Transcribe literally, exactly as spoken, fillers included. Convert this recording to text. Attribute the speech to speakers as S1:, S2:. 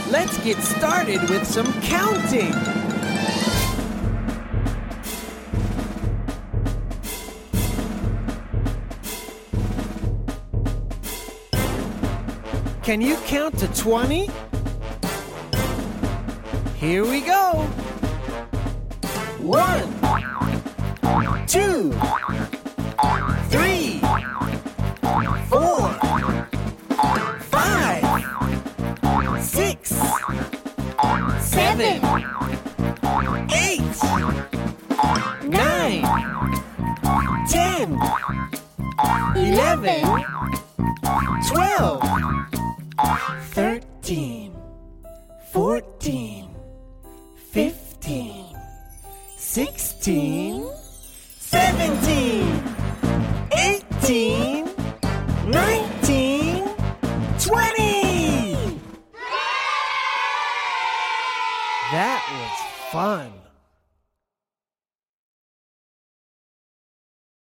S1: Let's get started with some counting. Can you count to twenty? Here we go. One, two, three, four, five, six, seven, eight, nine, ten, eleven, twelve, thirteen, fourteen, fifteen, sixteen, seventeen, eighteen, nineteen, twenty. That was fun.